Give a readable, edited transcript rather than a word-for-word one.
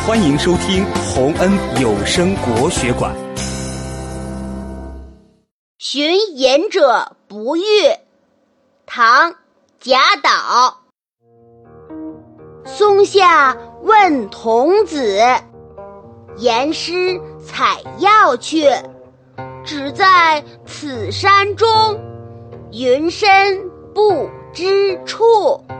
欢迎收听洪恩有声国学馆。 寻隐者不遇，唐·贾岛。松下问童子，言师采药去。只在此山中，云深不知处。